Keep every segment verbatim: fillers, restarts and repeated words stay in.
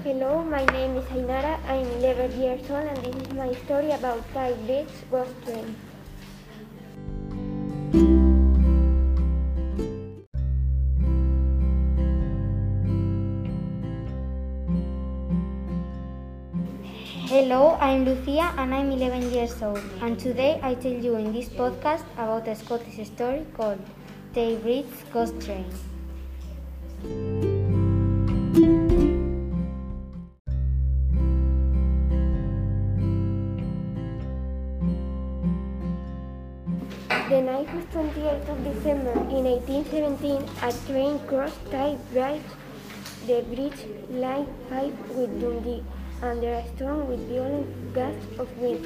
Hello, my name is Ainara. I'm eleven years old and this is my story about Thai Bridge Ghost Train. Hello, I'm Lucia and I'm eleven years old, and today I tell you in this podcast about a Scottish story called Thai Bridge Ghost Train. The night was twenty-eighth of December in eighteen seventeen. A train crossed Thai Bridge, the bridge line five with Dundee, under a storm with violent gusts of wind.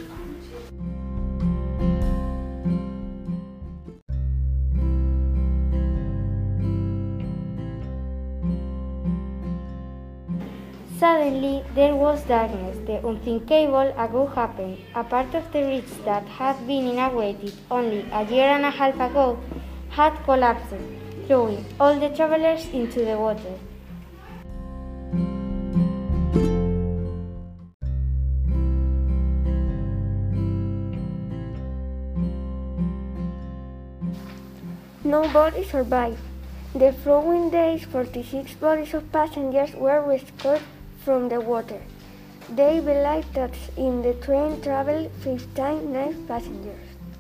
Suddenly, there was darkness. The unthinkable ago happened. A part of the bridge that had been inaugurated only a year and a half ago had collapsed, throwing all the travelers into the water. Nobody survived. The following days, forty-six bodies of passengers were rescued from the water. They believed that in the train traveled fifty-nine passengers.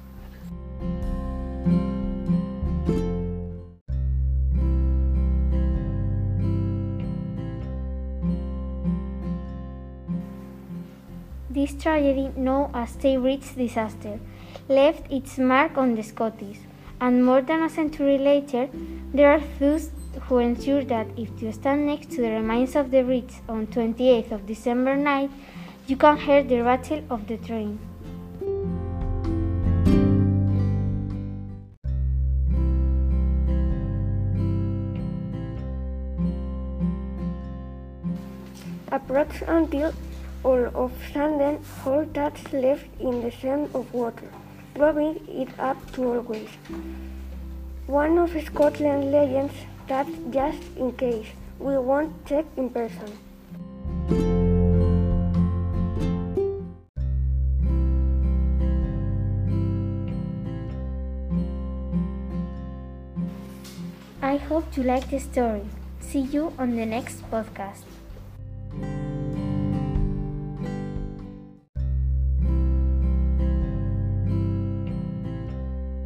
This tragedy, known as Thai Bridge disaster, left its mark on the Scottish, and more than a century later, there are those who ensure that if you stand next to the remains of the bridge on twenty-eighth of December night, you can hear the rattle of the train. Approach until all of a sudden whole touch left in the same of water, proving it up to always. One of Scotland's legends that just in case, we won't check in person. I hope you like the story. See you on the next podcast.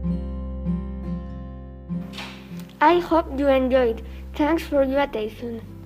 I hope you enjoyed. Thanks for your attention.